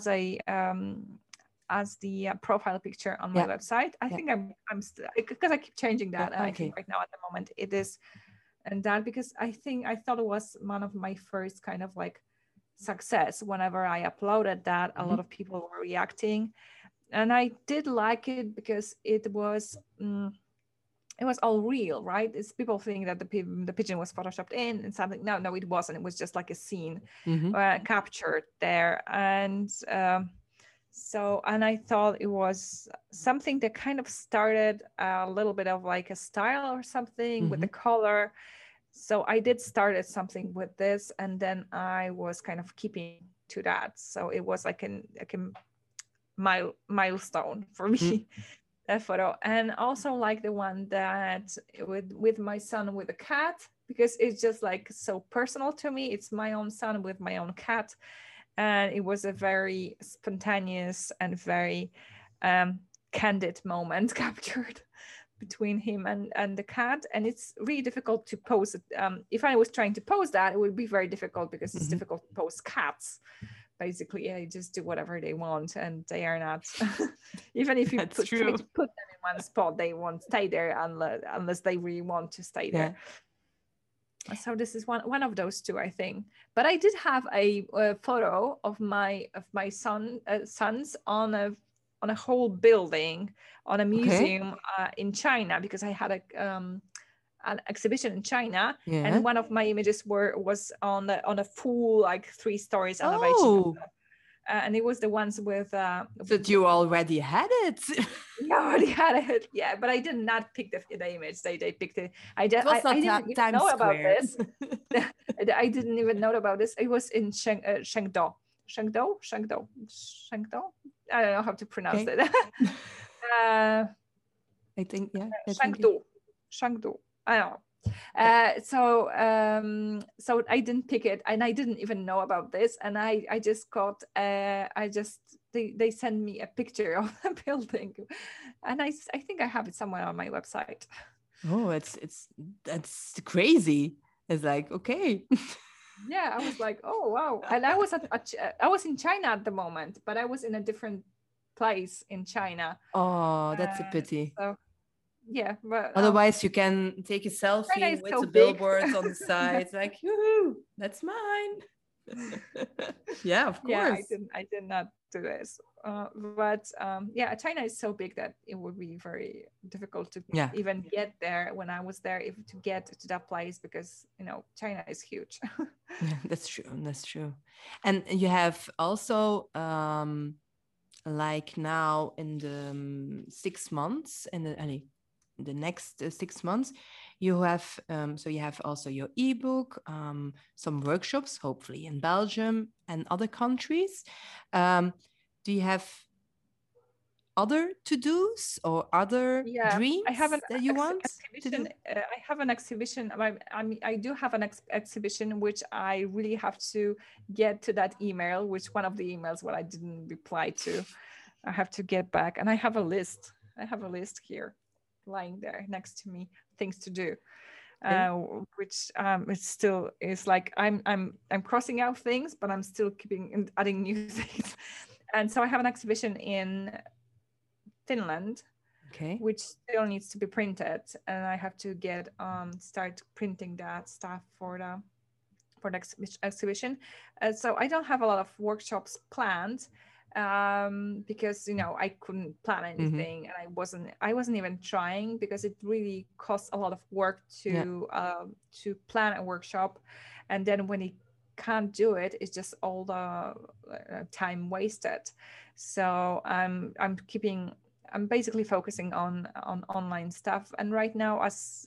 as the profile picture on my website. I think I'm still, because I keep changing that. I think right now at the moment it is, and that because I thought it was one of my first kind of like success. Whenever I uploaded that, a lot of people were reacting, and I did like it because it was all real, right? It's people think that the pigeon was photoshopped in and something. No, it wasn't. It was just like a scene captured there. And and I thought it was something that kind of started a little bit of like a style or something with the color. So I did started something with this, and then I was kind of keeping to that. So it was like a milestone for me. That photo. And also like the one that with my son with a cat, because it's just like so personal to me. It's my own son with my own cat, and it was a very spontaneous and very candid moment captured between him and the cat. And it's really difficult to pose it. If I was trying to pose that, it would be very difficult, because it's difficult to pose cats. Basically, they just do whatever they want, and they are not. Even if you try to put them in one spot, they won't stay there unless they really want to stay there. So this is one of those two, I think. But I did have a photo of my sons on a on a whole building, on a Okay. museum in China, because I had an exhibition in China, Yeah. and one of my images was on a full, like 3 stories elevation. Oh, And it was the ones with that you already had it. you already had it. Yeah, but I did not pick the image. They picked it. It was not I didn't even Times know about Square. this. I didn't even know about this. It was in Chengdu. I don't know how to pronounce Okay. it. I think, yeah. Chengdu. I don't know. So I didn't pick it, and I didn't even know about this, and I just got they sent me a picture of the building, and I think I have it somewhere on my website. Oh, that's crazy. It's like, okay. Yeah, I was like, oh wow. And I was in China at the moment, but I was in a different place in China. Oh, that's a pity. So yeah, but otherwise you can take a selfie with so the billboards on the side. It's like, yoo-hoo, that's mine. Yeah, of course. Yeah, I did not do this. But yeah, China is so big that it would be very difficult to even get there when I was there, to get to that place, because China is huge. Yeah, that's true. And you have also like now in the 6 months, in the next 6 months, you have so you have also your ebook, some workshops, hopefully in Belgium and other countries. Do you have other to-dos or other dreams that you want to do? I have an exhibition. I do have an exhibition, which I really have to get to that email, which one of the emails what I didn't reply to. I have to get back, and I have a list. Here lying there next to me, things to do. Which it still is like I'm crossing out things, but I'm still adding new things. And so I have an exhibition in Finland, which still needs to be printed, and I have to get start printing that stuff for the exhibition. So I don't have a lot of workshops planned, because I couldn't plan anything, and I wasn't even trying, because it really costs a lot of work to plan a workshop, and then when you can't do it, it's just all the time wasted. So I'm basically focusing on online stuff, and right now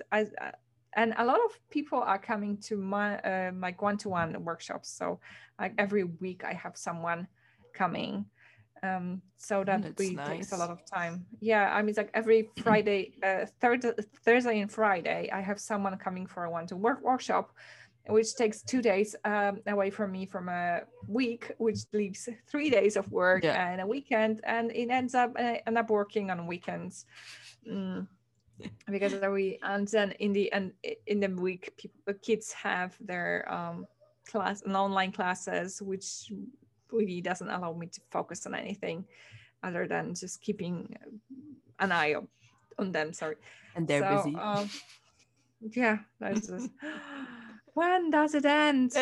and a lot of people are coming to my like one-to-one workshops, so like every week I have someone coming, so that really takes a lot of time. Yeah, I mean, it's like every Friday, Thursday and Friday, I have someone coming for a one-to-one workshop, which takes 2 days away from me from a week, which leaves 3 days of work and a weekend, and it ends up working on weekends. Because and then in the week, kids have their class and online classes, which really doesn't allow me to focus on anything other than just keeping an eye on them. Sorry, and they're busy. Yeah, that's just. When does it end?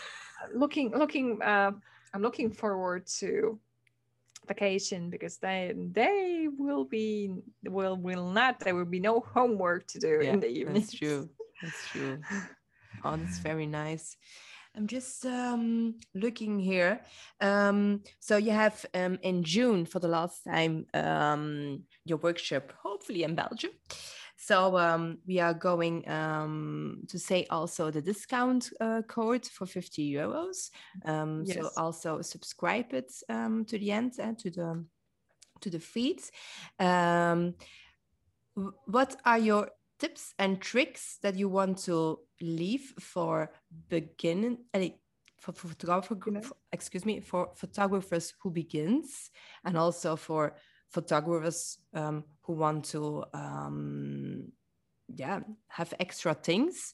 I'm looking forward to vacation, because there will be no homework to do in the evening. That's true. Oh, that's very nice. I'm just looking here. So you have in June for the last time your workshop, hopefully in Belgium. So we are going to say also the discount code for €50. So also subscribe it to the end and to the feeds. What are your tips and tricks that you want to leave for photographers who begins, and also for photographers who want to have extra things?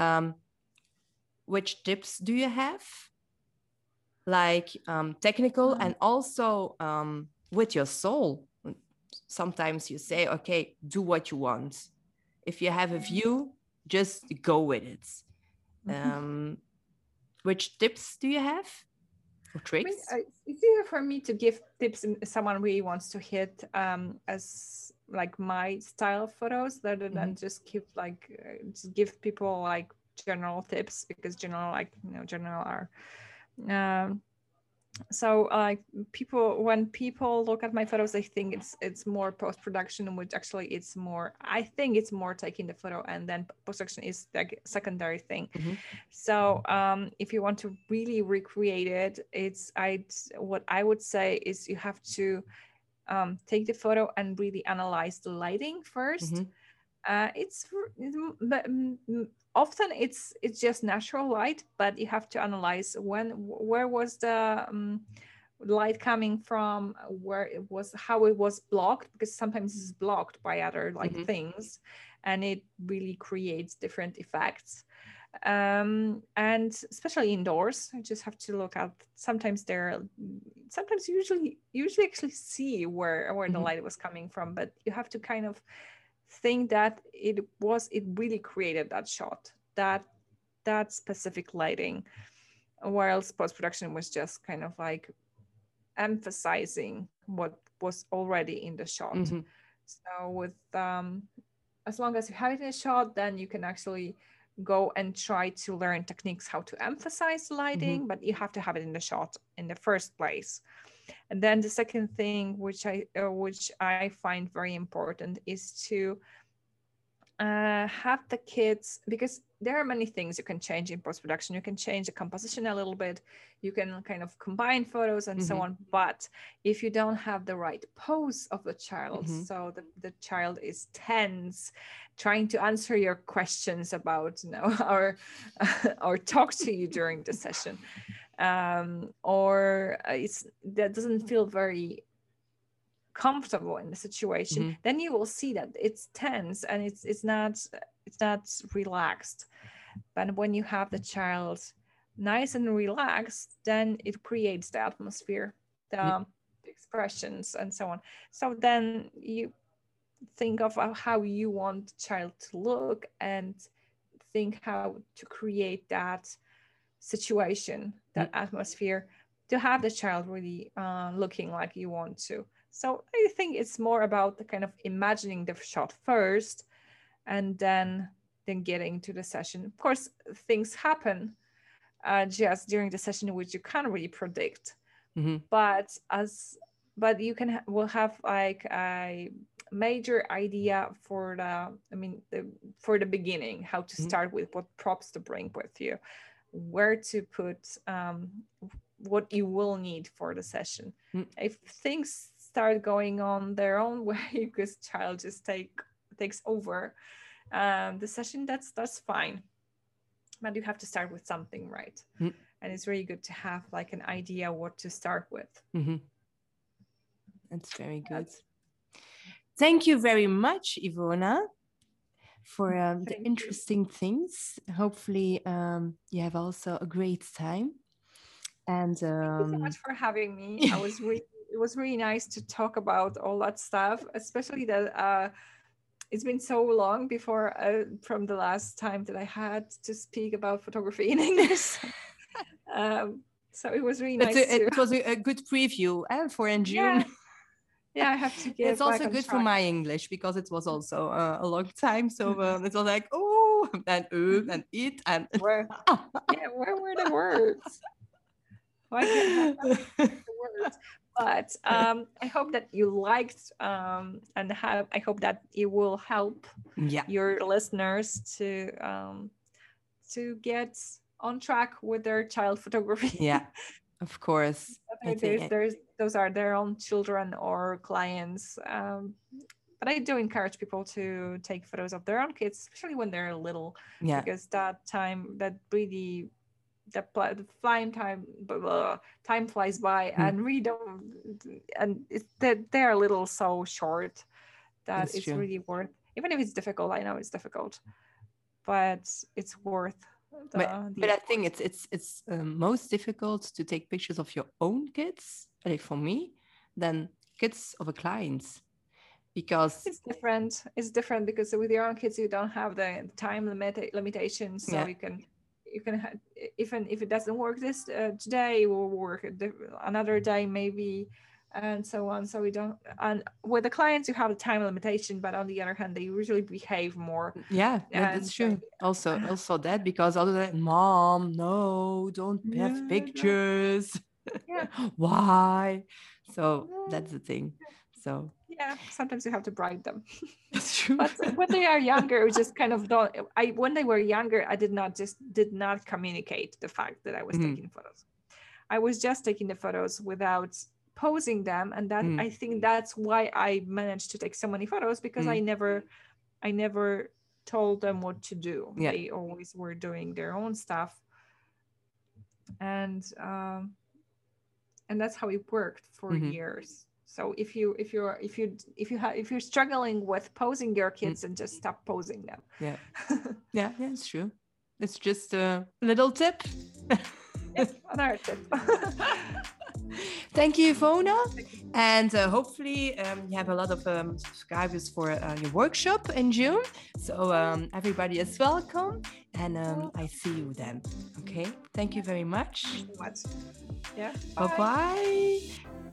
Which tips do you have, like technical and also with your soul? Sometimes you say, okay, do what you want. If you have a view, just go with it. Which tips do you have? or tricks? It's easier for me to give tips if someone really wants to hit as like my style of photos rather than just give people like general tips, because general are so like when people look at my photos, they think it's more post-production, which actually I think it's more taking the photo, and then post-production is like a secondary thing. So if you want to really recreate it, what I would say is you have to take the photo and really analyze the lighting first. Often it's just natural light, but you have to analyze where was the light coming from, how it was blocked, because sometimes it's blocked by other things, and it really creates different effects. And especially indoors, I just have to look at. Sometimes usually actually see where the light was coming from, but you have to kind of think that it really created that shot, that specific lighting, whilst post-production was just kind of like emphasizing what was already in the shot. So with as long as you have it in a shot, then you can actually go and try to learn techniques how to emphasize lighting, but you have to have it in the shot in the first place. And then the second thing, which I find very important, is to have the kids, because there are many things you can change in post-production. You can change the composition a little bit, you can kind of combine photos and so on. But if you don't have the right pose of the child, so the child is tense, trying to answer your questions about, or talk to you during the session, or that doesn't feel very comfortable in the situation, then you will see that it's tense and it's not relaxed. But when you have the child nice and relaxed, then it creates the atmosphere, the expressions and so on. So then you think of how you want the child to look and think how to create that situation, that atmosphere, to have the child really looking like you want to. So I think it's more about the kind of imagining the shot first, and then getting to the session. Of course, things happen just during the session which you can't really predict, but you will have like a major idea for the beginning, how to start with, what props to bring with you, where to put what you will need for the session. If things start going on their own way because child just takes over the session, that's fine, but you have to start with something, right? And it's really good to have like an idea what to start with. That's very good. Thank you very much, Ivona, for the interesting things. Hopefully you have also a great time. And thank you so much for having me. It was really nice to talk about all that stuff, especially that it's been so long from the last time that I had to speak about photography in English. So it was really nice. It was a good preview for in June. Yeah, I have to get. It's also good for my English because it was also a long time. So it was like, oh, and it and where were the words? Why can't I have the words? But I hope that you liked, and I hope that it will help your listeners to get on track with their child photography. Yeah, of course. Those are their own children or clients. But I do encourage people to take photos of their own kids, especially when they're little, because that time, that really, the time flies by, and we don't, and they are little so short that it's true. Really worth, even if it's difficult. I know it's difficult, but it's worth. But I think it's most difficult to take pictures of your own kids, like for me, than kids of a client, because it's different. It's different because with your own kids you don't have the time limitations, so you can even if it doesn't work this today, it will work another day maybe, and so on. So we don't, and with the clients you have a time limitation, but on the other hand they usually behave more. Yeah, that's true. Also that, because all of that, mom, no, don't have pictures. Yeah. Why? So that's the thing. So yeah, sometimes you have to bribe them. that's true. But when they are younger, we just kind of don't. When they were younger, I did not communicate the fact that I was taking photos. I was just taking the photos without posing them, and that I think that's why I managed to take so many photos, because I never told them what to do. Yeah. They always were doing their own stuff, and that's how it worked for years. So if you're struggling with posing your kids, and just stop posing them. Yeah, it's true. It's just a little tip. Yes, another tip. Thank you, Ivona, and hopefully you have a lot of subscribers for your workshop in June. So everybody is welcome, and I see you then. Okay, thank you very much. Thank you so much. Yeah. Bye bye.